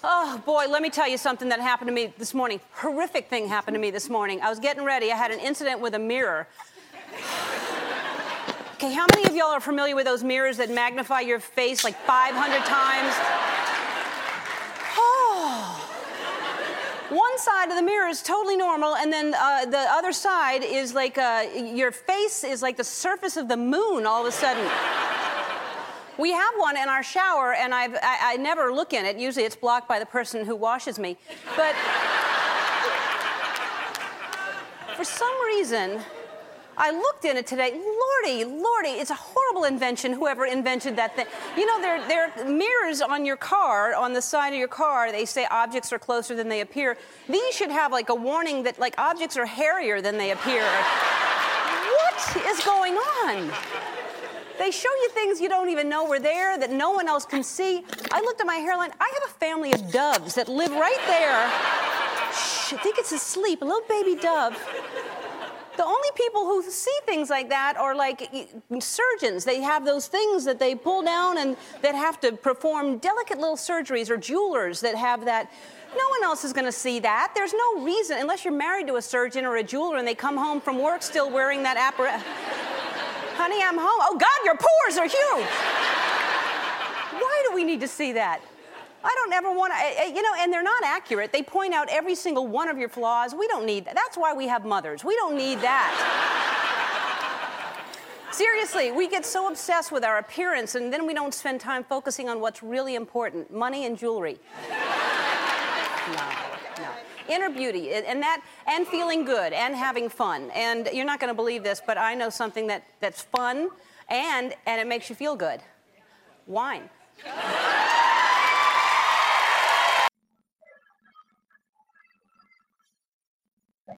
Oh, boy, let me tell you something that happened to me this morning. Horrific thing happened to me this morning. I was getting ready. I had an incident with a mirror. Okay, how many of y'all are familiar with those mirrors that magnify your face like 500 times? Oh. One side of the mirror is totally normal, and then the other side is like your face is like the surface of the moon all of a sudden. We have one in our shower, and I never look in it. Usually it's blocked by the person who washes me. But for some reason, I looked in it today. Lordy, it's a horrible invention, whoever invented that thing. You know, there are mirrors on your car, on the side of your car. They say objects are closer than they appear. These should have like a warning that like objects are hairier than they appear. What is going on? They show you things you don't even know were there, that no one else can see. I looked at my hairline. I have a family of doves that live right there. Shh, I think it's asleep, a little baby dove. The only people who see things like that are like surgeons. They have those things that they pull down and that have to perform delicate little surgeries, or jewelers that have that. No one else is going to see that. There's no reason, unless you're married to a surgeon or a jeweler and they come home from work still wearing that apparatus. Honey, I'm home. Oh, God, your pores are huge. Why do we need to see that? I don't ever want to, and they're not accurate. They point out every single one of your flaws. We don't need that. That's why we have mothers. We don't need that. Seriously, we get so obsessed with our appearance, and then we don't spend time focusing on what's really important, money and jewelry. No. Inner beauty, and feeling good, and having fun. And you're not going to believe this, but I know something that's fun, and it makes you feel good. Wine.